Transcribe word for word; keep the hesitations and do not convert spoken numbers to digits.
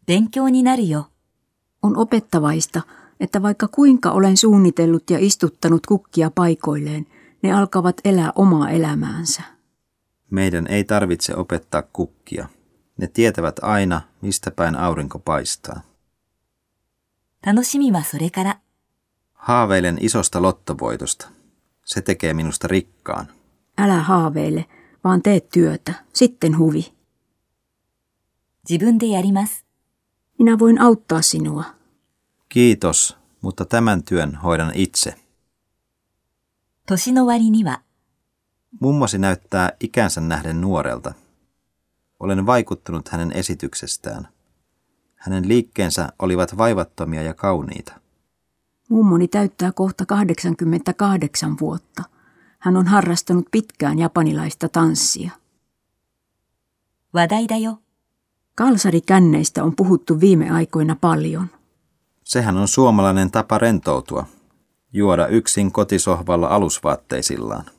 勉強になるよ。 On opettavaista, että vaikka kuinka olen suunnitellut ja istuttanut kukkia paikoilleen, ne alkavat elää omaa elämäänsä. Meidän ei tarvitse opettaa kukkia. Ne tietävät aina, mistä päin aurinko paistaa. 楽しみはそれから。 Haaveilen isosta lottovoitosta. Se tekee minusta rikkaan. Älä haaveile, vaan tee työtä, sitten huvi. 自分でやります。 Minä voin auttaa sinua. Kiitos, mutta tämän työn hoidan itse. 年の割には。 Mummosi näyttää ikänsä nähden nuorelta. Olen vaikuttunut hänen esityksestään. Hänen liikkeensä olivat vaivattomia ja kauniita. Mummoni täyttää kohta kahdeksankymmentäkahdeksan vuotta. Hän on harrastanut pitkään japanilaista tanssia. 話題だよ。 Kalsarikänneistä on puhuttu viime aikoina paljon. Sehän on suomalainen tapa rentoutua. Juoda yksin kotisohvalla alusvaatteisillaan.